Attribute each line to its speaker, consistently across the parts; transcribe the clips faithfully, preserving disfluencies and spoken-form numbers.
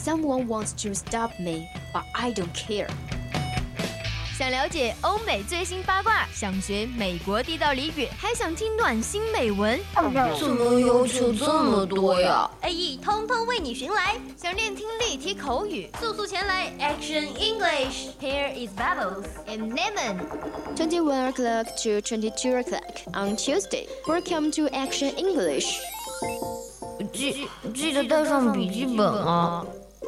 Speaker 1: Someone wants to stop me, but I don't care.
Speaker 2: 想了解欧美最新八卦，想学美国地道俚语，还想听暖心美文，
Speaker 1: 怎么要求这么多呀
Speaker 2: ？A E 通通为你寻来。想练听力、提口语，速速前来 Action English. Here is Bubbles and Lemon.
Speaker 1: twenty-one o'clock to twenty-two o'clock on Tuesday. Welcome to Action English.
Speaker 3: 记记得带上笔记本啊。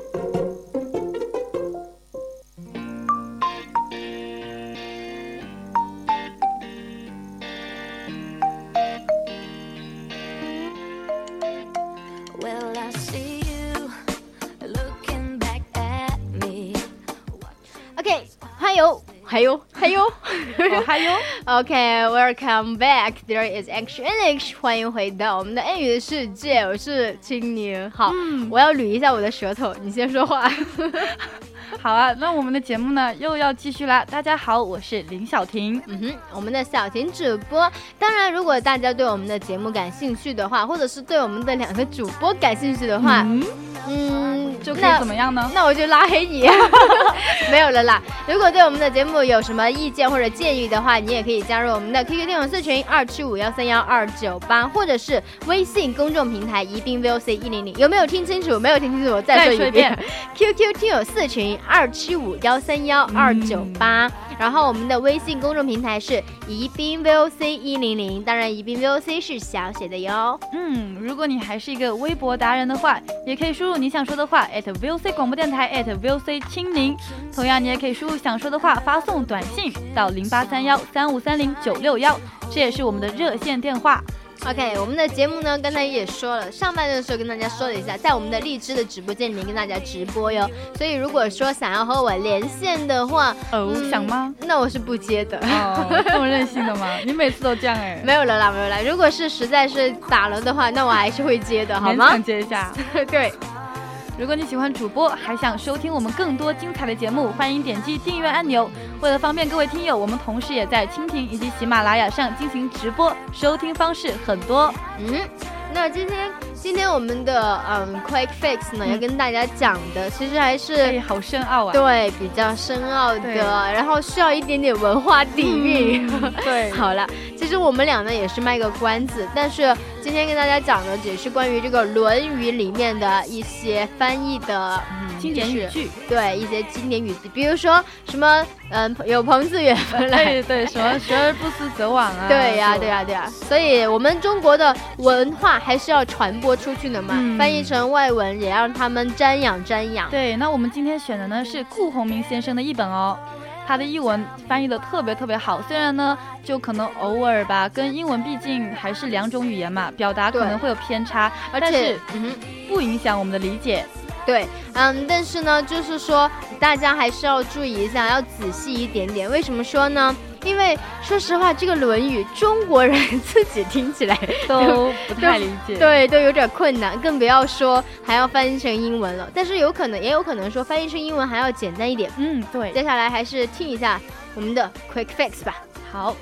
Speaker 2: OK， 还有还有还有
Speaker 3: 还有
Speaker 2: OK, welcome back. There is Action English. 欢迎回到我们的英语的世界，我是青柠。好、嗯，我要捋一下我的舌头，你先说话。
Speaker 3: 好啊，那我们的节目呢又要继续啦。大家好，我是林小婷。
Speaker 2: 嗯哼，我们的小婷主播。当然，如果大家对我们的节目感兴趣的话，或者是对我们的两个主播感兴趣的话，嗯。
Speaker 3: 嗯，就可以怎么样呢？
Speaker 2: 那, 那我就拉黑你。没有了啦。如果对我们的节目有什么意见或者建议的话，你也可以加入我们的 Q Q 听友四群二七五幺三幺二九八，或者是微信公众平台宜宾 V O C 一零零。有没有听清楚？没有听清楚，我再说一遍。Q Q 听友四群二七五幺三幺二九八，然后我们的微信公众平台是宜宾 V O C 一零零，当然宜宾 V O C 是小写的哟。
Speaker 3: 嗯，如果你还是一个微博达人的话，也可以输入你想说的话 at V O C 广播电台 at V O C 青柠，同样你也可以输入想说的话发送短信到零八三幺三五三零九六幺，这也是我们的热线电话。
Speaker 2: OK， 我们的节目呢，刚才也说了，上半段的时候跟大家说了一下，在我们的荔枝的直播间里面跟大家直播哟。所以如果说想要和我连线的话，
Speaker 3: 哦、嗯，想吗？
Speaker 2: 那我是不接的。
Speaker 3: 哦，这么任性的吗？你每次都这样哎。
Speaker 2: 没有了啦，没有啦。如果是实在是打了的话，那我还是会接的，好吗？
Speaker 3: 勉强接一下。
Speaker 2: 对。
Speaker 3: 如果你喜欢主播，还想收听我们更多精彩的节目，欢迎点击订阅按钮。为了方便各位听友，我们同时也在蜻蜓以及喜马拉雅上进行直播，收听方式很多。
Speaker 2: 嗯，那今天今天我们的嗯 Quick Fix 呢，嗯、要跟大家讲的，其实还是、
Speaker 3: 哎、好深奥啊，
Speaker 2: 对，比较深奥的，然后需要一点点文化底蕴。
Speaker 3: 嗯、对，
Speaker 2: 好了，其实我们俩呢也是卖个关子，但是今天跟大家讲的也是关于这个《论语》里面的一些翻译的、
Speaker 3: 嗯、经典语句，
Speaker 2: 对，一些经典语句，比如说什么嗯，有朋自远方来，
Speaker 3: 对对，什么学而不思则罔啊，
Speaker 2: 对呀、啊、对呀、啊、对呀、啊，所以我们中国的文化还是要传播出去的嘛，嗯、翻译成外文也让他们瞻仰瞻仰。
Speaker 3: 对，那我们今天选的呢是顾鸿铭先生的译本哦。他的译文翻译的特别特别好，虽然呢就可能偶尔吧，跟英文毕竟还是两种语言嘛，表达可能会有偏差，
Speaker 2: 而
Speaker 3: 且
Speaker 2: 嗯
Speaker 3: 不影响我们的理解。
Speaker 2: 对，嗯，但是呢，就是说大家还是要注意一下，要仔细一点点。为什么说呢？因为说实话，这个《论语》中国人自己听起来
Speaker 3: 都不太理解，
Speaker 2: 对，都有点困难，更不要说还要翻译成英文了。但是有可能，也有可能说翻译成英文还要简单一点。
Speaker 3: 嗯，对。
Speaker 2: 接下来还是听一下我们的 Quick Fix 吧。
Speaker 3: 好。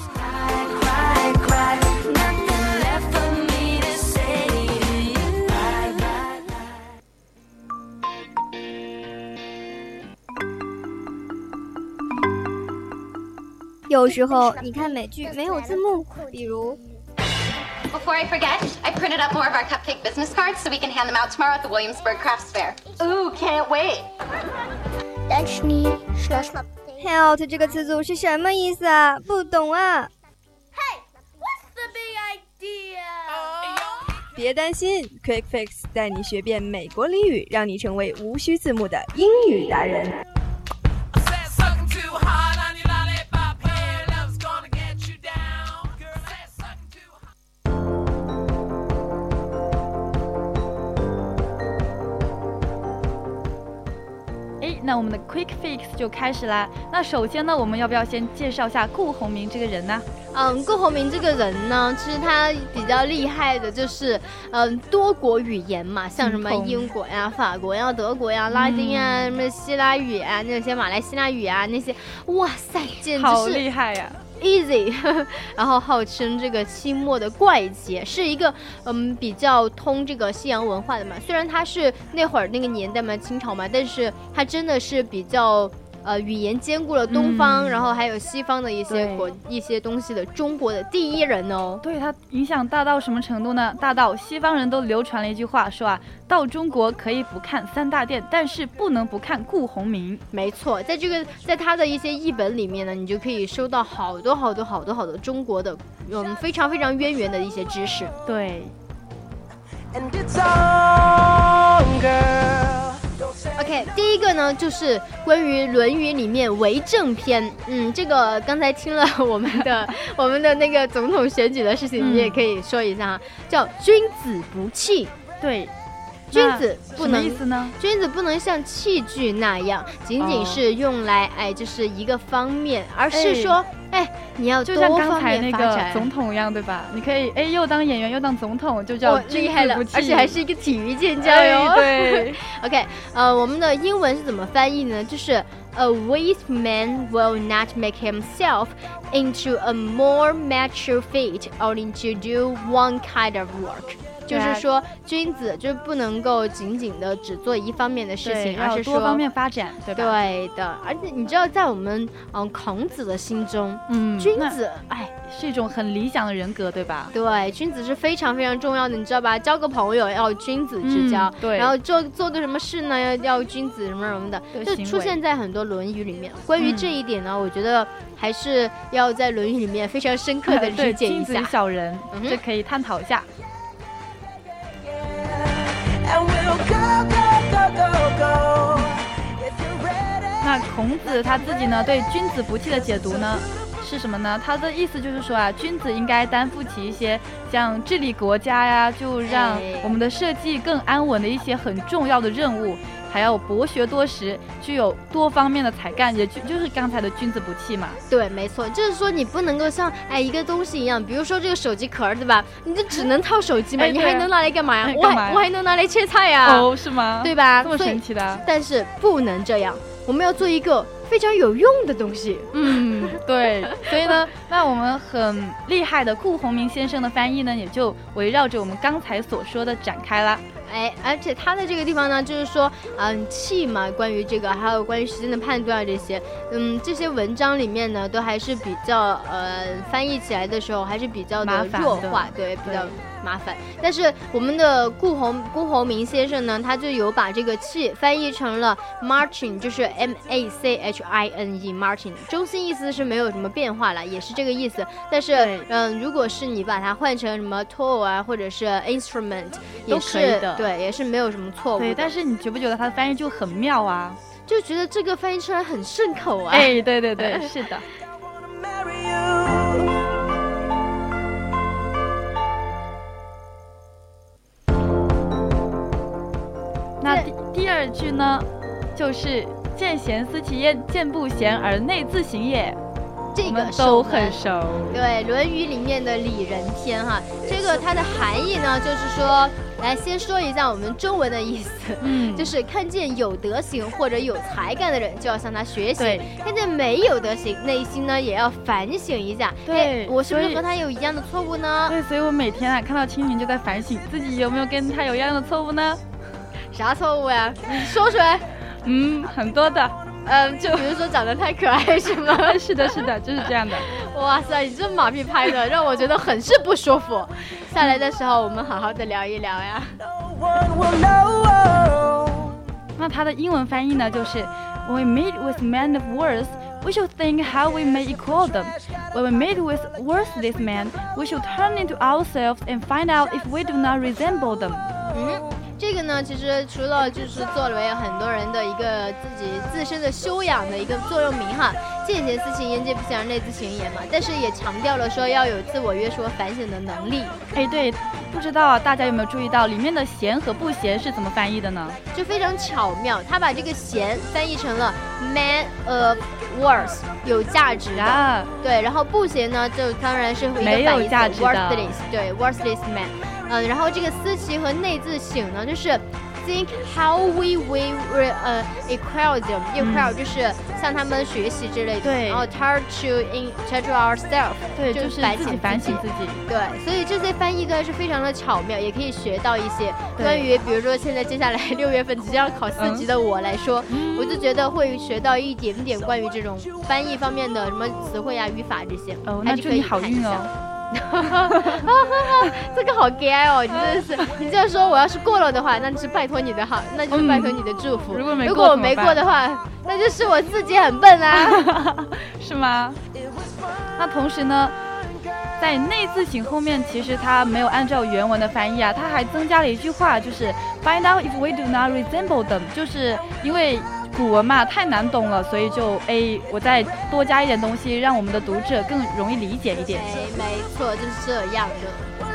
Speaker 4: 有时候你看美剧没有字幕，比如
Speaker 5: Before I forget, I printed up more of our cupcake business cards so we can hand them out tomorrow at the Williamsburg Crafts Fair. Ooh, can't wait.
Speaker 4: Help 这个词组是什么意思啊？不懂啊。
Speaker 6: Hey, what's the big idea?
Speaker 7: 别担心 ，Quick Fix 带你学遍美国俚语，让你成为无需字幕的英语达人。
Speaker 3: 那我们的 Quick Fix 就开始啦。那首先呢，我们要不要先介绍一下顾鸿铭这个人呢？
Speaker 2: 嗯，顾鸿铭这个人呢，其实他比较厉害的就是，嗯，多国语言嘛，像什么英国呀、法国呀、德国呀、拉丁啊、什么希腊语啊，那些马来西亚语啊，那些，哇塞，简直是
Speaker 3: 好厉害呀！
Speaker 2: easy 然后号称这个清末的怪杰，是一个嗯比较通这个西洋文化的嘛，虽然他是那会儿那个年代嘛，清朝嘛，但是他真的是比较呃，语言兼顾了东方、嗯，然后还有西方的一些国一些东西的中国的第一人哦。
Speaker 3: 对，它影响大到什么程度呢？大到西方人都流传了一句话，说啊，到中国可以不看三大殿，但是不能不看顾鸿铭。
Speaker 2: 没错，在这个在他的一些译本里面呢，你就可以收到好多好多好多好多中国的嗯非常非常渊源的一些知识。
Speaker 3: 对。
Speaker 2: And it's on, girl.OK， 第一个呢就是关于《论语》里面为政篇。嗯，这个刚才听了我们的我们的那个总统选举的事情，你也可以说一下哈，叫君子不器。
Speaker 3: 对，
Speaker 2: 君子不能
Speaker 3: 什么意思呢？
Speaker 2: 君子不能像器具那样，仅仅是用来、哦、哎，就是一个方面，而是说，哎，哎你要多方面发展。就像刚才那个
Speaker 3: 总统一样，对吧？你可以哎，又当演员又当总统，就叫君子不器，
Speaker 2: 而且还是一个体育健将哟。
Speaker 3: 哎、对
Speaker 2: ，OK， 呃，我们的英文是怎么翻译呢？就是 A wise man will not make himself into a more mature feat only to do one kind of work。就是说，君子就是不能够仅仅的只做一方面的事情，而是说
Speaker 3: 多方面发展，对吧？
Speaker 2: 对的，而且你知道，在我们嗯孔子的心中，嗯，君子哎
Speaker 3: 是一种很理想的人格，对吧？
Speaker 2: 对，君子是非常非常重要的，你知道吧？交个朋友要君子之交，嗯、
Speaker 3: 对，
Speaker 2: 然后做做个什么事呢，要要君子什么什么的，就出现在很多《论语》里面。关于这一点呢，嗯、我觉得还是要在《论语》里面非常深刻的理解一下。
Speaker 3: 君子小人，嗯、这可以探讨一下。那孔子他自己呢，对君子不器的解读呢是什么呢？他的意思就是说啊，君子应该担负起一些像治理国家呀，就让我们的社稷更安稳的一些很重要的任务，还要博学多识，具有多方面的才干，也就就是刚才的君子不器嘛。
Speaker 2: 对，没错，就是说你不能够像哎一个东西一样，比如说这个手机壳，对吧？你就只能套手机嘛，哎、你还能拿来干嘛呀？
Speaker 3: 哎、
Speaker 2: 我还我还能拿来切菜呀。
Speaker 3: 哦，是吗？
Speaker 2: 对吧？
Speaker 3: 这么神奇的。
Speaker 2: 但是不能这样，我们要做一个非常有用的东西。
Speaker 3: 嗯，对。所以呢，那我们很厉害的顾鸿铭先生的翻译呢，也就围绕着我们刚才所说的展开了。
Speaker 2: 哎，而且他的这个地方呢，就是说，嗯，器嘛，关于这个，还有关于时间的判断这些，嗯，这些文章里面呢，都还是比较，呃，翻译起来的时候还是比较的弱化，对，比较麻烦。但是我们的顾鸿顾鸿铭先生呢，他就有把这个器翻译成了 marching， 就是 M A C H I N E marching， 中心意思是没有什么变化了，也是这个意思。但是，嗯，如果是你把它换成什么 tool 啊，或者是 instrument， 也是的。对，也是没有什么错误。
Speaker 3: 对，但是你觉不觉得他的翻译就很妙啊？
Speaker 2: 就觉得这个翻译出来很顺口啊。
Speaker 3: 哎，对对对，是的。那第第二句呢，就是见贤思齐焉，见不贤而内自省也。
Speaker 2: 这个
Speaker 3: 都很熟，
Speaker 2: 对，《论语》里面的礼仁篇哈，这个它的含义呢，就是说，来先说一下我们中文的意思，嗯，就是看见有德行或者有才干的人，就要向他学习；看见没有德行，内心呢也要反省一下，
Speaker 3: 对，
Speaker 2: 我是不是和他有一样的错误呢？
Speaker 3: 对，所以我每天啊看到清明就在反省自己有没有跟他有一样的错误呢？
Speaker 2: 啥错误呀？你说出来。
Speaker 3: 嗯，很多的。
Speaker 2: 嗯，就比如说长得太可爱是吗？
Speaker 3: 是的，是的，就是这样的。
Speaker 2: 哇塞，你这马屁拍的让我觉得很是不舒服。下来的时候我们好好的聊一聊呀。
Speaker 3: 那它的英文翻译呢，就是 When we meet with men of worth, we should think how we may equal them. When we meet with worthless men, we should turn into ourselves and find out if we do not resemble them.
Speaker 2: 嗯。这个呢，其实除了就是作为很多人的一个自己自身的修养的一个座右铭哈，见贤思齐焉，见不贤而内自省也嘛，但是也强调了说要有自我约束和反省的能力。
Speaker 3: 哎，对，不知道大家有没有注意到里面的贤和不贤是怎么翻译的呢？
Speaker 2: 就非常巧妙，他把这个贤翻译成了 man of worth， 有价值的，啊、对，然后不贤呢，就当然是一个
Speaker 3: 没有价值的
Speaker 2: worthless， 对 worthless man。嗯，然后这个思齐和内自省呢，就是 think how we will 呃、uh, equal them equal、嗯、就是向他们学习之类的，
Speaker 3: 对，
Speaker 2: 然后 try to in try to ourselves，
Speaker 3: 对，就是自己反省自己，
Speaker 2: 对，所以这些翻译呢是非常的巧妙，也可以学到一些关于，比如说现在接下来六月份即将考四级的我来说、嗯，我就觉得会学到一点点关于这种翻译方面的什么词汇啊、语法这些。
Speaker 3: 哦，那祝你好运哦。
Speaker 2: 这个好 gay 哦，你真的是，你这样说我要是过了的话，那就是拜托你的好，那就是拜托你的祝福。
Speaker 3: 嗯、如果没过，
Speaker 2: 如果我没过的话，那就是我自己很笨啊，
Speaker 3: 是吗？那同时呢，在内字型后面，其实它没有按照原文的翻译啊，它还增加了一句话，就是 find out if we do not resemble them， 就是因为古文嘛太难懂了，所以就哎，我再多加一点东西，让我们的读者更容易理解一点。
Speaker 2: 哎，没错，就是这样的。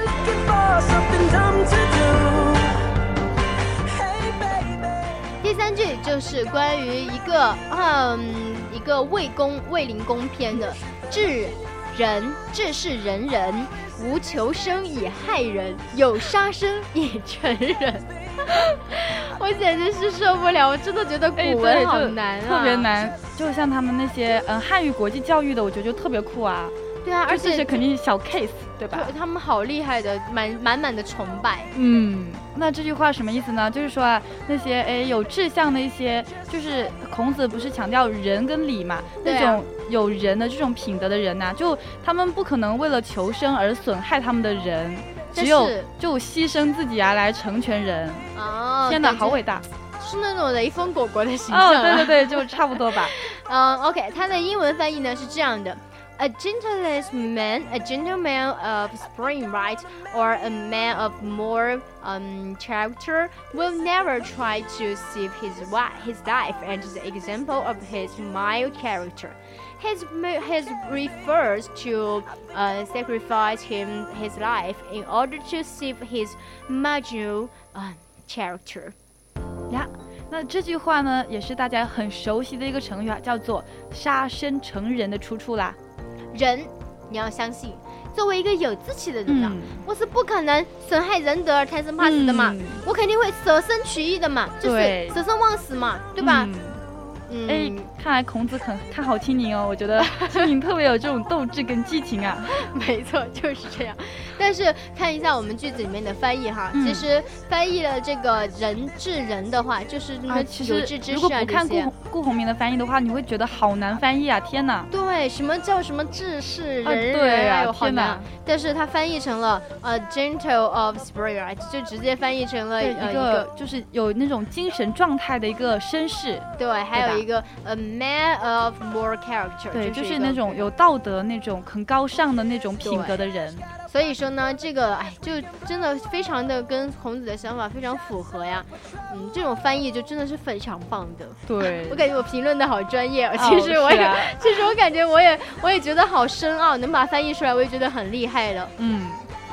Speaker 2: 第三句就是关于一个嗯一个魏公魏灵公篇的治人，治是人人，无求生以害人，有杀生以成人。我简直是受不了，我真的觉得古文好难啊，
Speaker 3: 特别难。就像他们那些嗯汉语国际教育的，我觉得就特别酷啊。
Speaker 2: 对啊，而且
Speaker 3: 是肯定小 case， 对吧？
Speaker 2: 对，他们好厉害的，满满满的崇拜。
Speaker 3: 嗯，那这句话什么意思呢？就是说啊，那些哎有志向的一些，就是孔子不是强调仁跟礼嘛，那种有仁的这种品德的人呐、啊，就他们不可能为了求生而损害他们的人。只有就牺牲自己啊来成全人。
Speaker 2: 哦，
Speaker 3: 天哪，好伟大！
Speaker 2: 是那种雷锋果果的形象、啊。
Speaker 3: 哦，对对对，就差不多吧。
Speaker 2: 嗯 ，OK， 它的英文翻译呢是这样的 ：A gentlest man, a gentleman of spring right, or a man of more um character will never try to save his his life, and is the example of his mild character.His, his refers to uh, sacrifice him his life in order to save his marginal uh, character.
Speaker 3: 呀，那这句话呢，也是大家很熟悉的一个成语啊，叫做杀身成仁的出处啦。
Speaker 2: 人，你要相信，作为一个有志气的人啊、嗯，我是不可能损害仁德而贪生怕死的嘛、嗯，我肯定会舍身取义的嘛，就是舍身忘死嘛，对吧？嗯
Speaker 3: 嗯，哎，看来孔子很看好青宁哦，我觉得青宁特别有这种斗志跟激情啊。
Speaker 2: 没错，就是这样。但是看一下我们句子里面的翻译哈，嗯、其实翻译了这个人治人的话，就是那个有志之士啊这些。
Speaker 3: 如果不看顾顾鸿铭的翻译的话，你会觉得好难翻译啊！天哪。
Speaker 2: 对，什么叫什么治世人人？
Speaker 3: 啊对啊，
Speaker 2: 哎呦好难。但是它翻译成了呃 gentle of spirit， 就直接翻译成了
Speaker 3: 一个、呃、一个就是有那种精神状态的一个绅士。
Speaker 2: 对，还有一个 a man of more character，
Speaker 3: 对，就是那种有道德、那种很高尚的那种品格的人。
Speaker 2: 所以说呢，这个哎，就真的非常的跟孔子的想法非常符合呀。嗯，这种翻译就真的是非常棒的。
Speaker 3: 对，
Speaker 2: 我感觉我评论的好专业，其实我也，哦啊、其实我感觉我也，我也觉得好深奥，能把它翻译出来，我也觉得很厉害了。
Speaker 3: 嗯。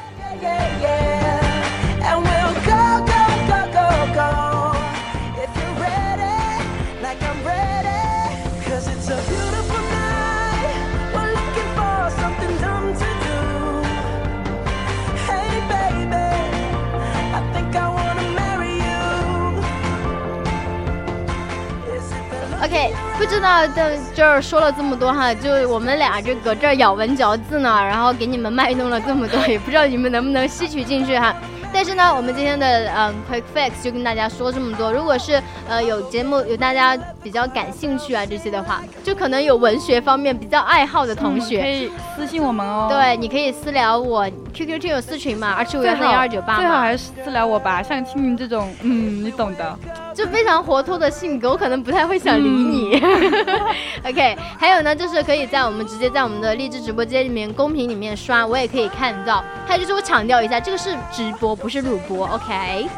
Speaker 2: OK， 不知道在这儿说了这么多哈，就我们俩这搁这儿咬文嚼字呢，然后给你们卖弄了这么多，也不知道你们能不能吸取进去哈。但是呢，我们今天的嗯 Quick Fix 就跟大家说这么多。如果是呃有节目有大家比较感兴趣啊这些的话，就可能有文学方面比较爱好的同学，
Speaker 3: 嗯、可以私信我们哦。
Speaker 2: 对，你可以私聊我 Q Q 听友私群嘛，二七五幺三幺二九八嘛。
Speaker 3: 最好还是私聊我吧，像青宁这种，嗯，你懂的。
Speaker 2: 就非常活脱的性格，我可能不太会想理你。嗯、OK， 还有呢，就是可以在我们直接在我们的荔枝直播间里面公屏里面刷，我也可以看到。还有就是我强调一下，这个是直播，不是录播。OK。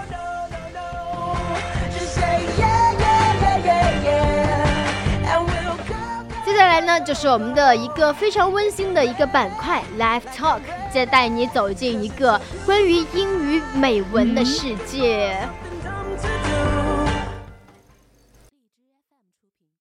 Speaker 2: 接下来呢，就是我们的一个非常温馨的一个板块 Live Talk， 再带你走进一个关于英语美文的世界。嗯